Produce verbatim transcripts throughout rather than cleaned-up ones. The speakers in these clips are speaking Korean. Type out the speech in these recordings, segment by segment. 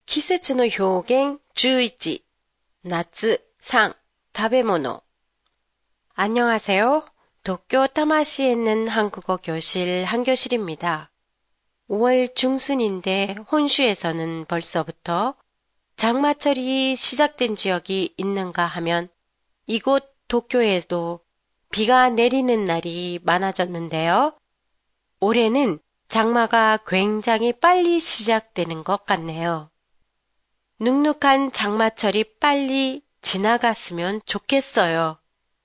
季節の表現십일, 나츠, 상, 食べ物. 안녕하세요. 도쿄 타마시에 있는 한국어 교실 한교실입니다. 오월 중순인데 혼슈에서는 벌써부터 장마철이 시작된 지역이 있는가 하면 이곳 도쿄에도 비가 내리는 날이 많아졌는데요. 올해는 장마가 굉장히 빨리 시작되는 것 같네요. 눅눅한 장마철이 빨리 지나갔으면 좋겠어요.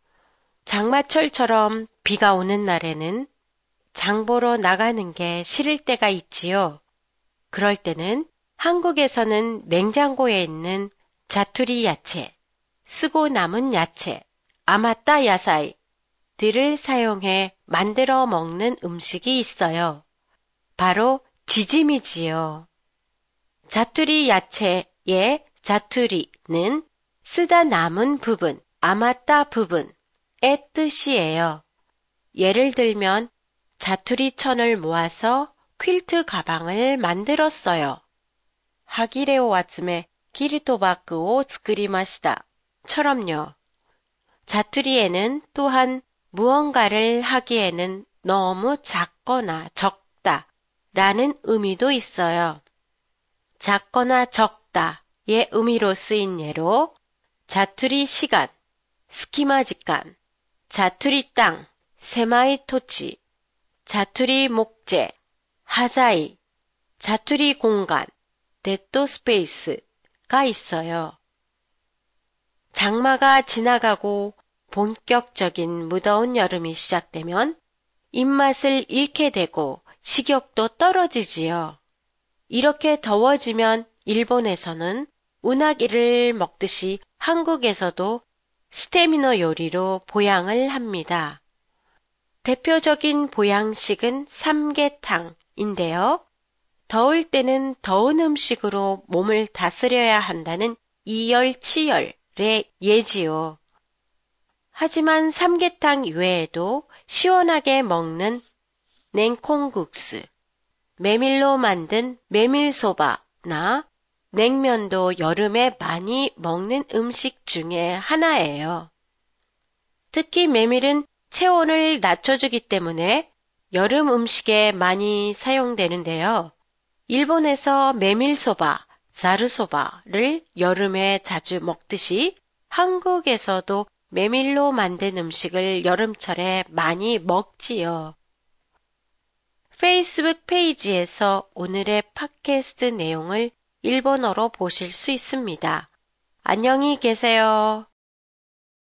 장마철처럼 비가 오는 날에는 장 보러 나가는 게 싫을 때가 있지요. 그럴 때는 한국에서는 냉장고에 있는 자투리 야채, 쓰고 남은 야채, 아마따 야사이들을 사용해 만들어 먹는 음식이 있어요. 바로 지짐이지요. 자투리 야채의 자투리는 쓰다 남은 부분, 아마따 부분의 뜻이에요. 예를 들면 자투리 천을 모아서 퀼트 가방을 만들었어요. 하기레오 와츠메 기리토바크오 스크리마시다 처럼요. 자투리에는 또한 무언가를 하기에는 너무 작거나 적다 라는 의미도 있어요. 작거나 적다의 의미로 쓰인 예로 자투리 시간, 스키마 직간, 자투리 땅, 세마이 토치, 자투리 목재, 하자이, 자투리 공간, 데토 스페이스가 있어요. 장마가 지나가고 본격적인 무더운 여름이 시작되면 입맛을 잃게 되고 식욕도 떨어지지요. 이렇게 더워지면 일본에서는 우나기를 먹듯이 한국에서도 스테미너 요리로 보양을 합니다. 대표적인 보양식은 삼계탕인데요. 더울 때는 더운 음식으로 몸을 다스려야 한다는 이열치열의 예지요. 하지만 삼계탕 이외에도 시원하게 먹는 냉콩국수, 메밀로 만든 메밀소바나 냉면도 여름에 많이 먹는 음식 중에 하나예요. 특히 메밀은 체온을 낮춰주기 때문에 여름 음식에 많이 사용되는데요. 일본에서 메밀소바, 자르소바를 여름에 자주 먹듯이 한국에서도 메밀로 만든 음식을 여름철에 많이 먹지요. 페이스북 페이지에서 오늘의 팟캐스트 내용을 일본어로 보실 수 있습니다. 안녕히 계세요.